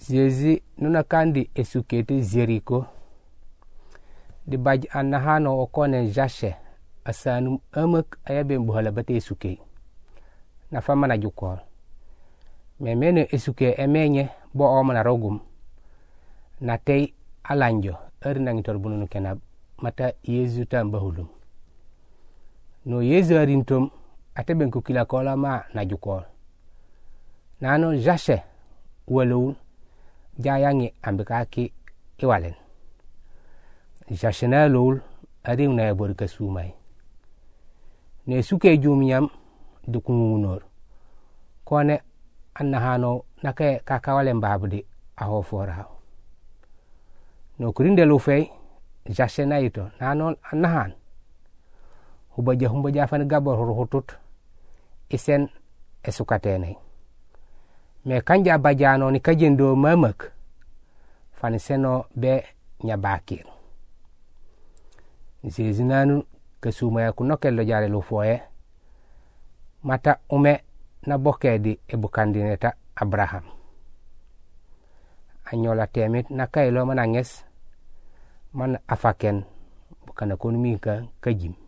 Jésus nuna kandi esukete Jericho di baj annahano okone jashe asanum amak ayaben buhala bate esuke na famana jukol memene esuke emenye bo omana rogum na tey alanjo erna ngitor bununu kenab mata Yesu tamba hulum no Yesu arintom ateben ko kila kola ma na jukol nano jashe walowun jayangi ambikaki iwalen jashena lol aring na yabor kasumai ne suke jumnyam dukungunor kone annahano nake kakawalen babdi aho fora no kurinde lu fey jashena ito nanon annahan humba jafan gabor hutut isen esukatene me kanja bajano ni kajendo mamak faniseno be nyabakir Zezinanu kasumaya kunokello jare lu foye mata ume na bokedi ebukandineta Abraham anyola temit na kaylo mananges man afaken bukana konumi ka kajim